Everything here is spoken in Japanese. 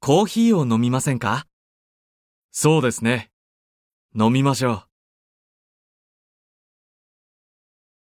コーヒーを飲みませんか？ そうですね。飲みましょう。